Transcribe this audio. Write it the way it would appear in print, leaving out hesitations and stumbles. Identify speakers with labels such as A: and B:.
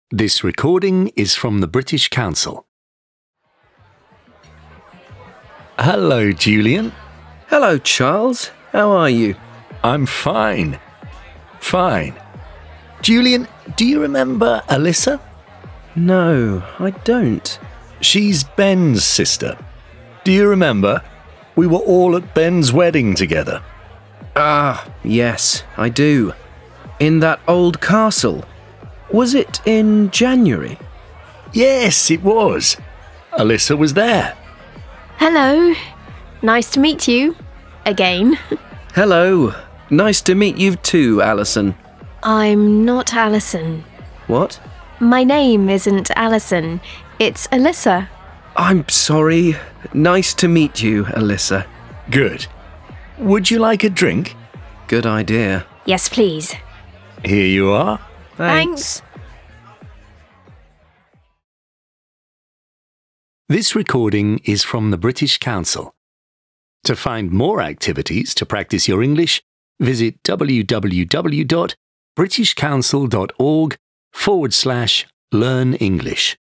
A: This recording is from the British Council. Hello, Julian.
B: Hello, Charles. How are you?
A: I'm fine. Fine. Julian, do you remember Alyssa?
B: No, I don't.
A: She's Ben's sister. Do you remember? We were all at Ben's wedding together.
B: Ah, yes, I do. In that old castle. Was it in January?
A: Yes, it was. Alyssa was there.
C: Hello. Nice to meet you. Again.
B: Hello. Nice to meet you too, Alison.
C: I'm not Alison.
B: What?
C: My name isn't Alison. It's Alyssa.
B: I'm sorry. Nice to meet you, Alyssa.
A: Good. Would you like a drink?
B: Good idea.
C: Yes, please.
A: Here you are.
C: Thanks.
A: This recording is from the British Council. To find more activities to practice your English, visit www.britishcouncil.org/learn English.